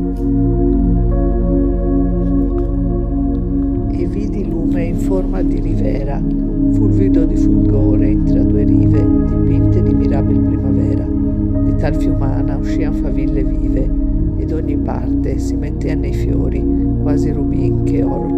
E vidi lume in forma di rivera, fulvido di fulgore intra due rive, dipinte di mirabil primavera. Di tal fiumana uscian faville vive, ed ogni parte si mettean nei fiori, quasi rubin che oro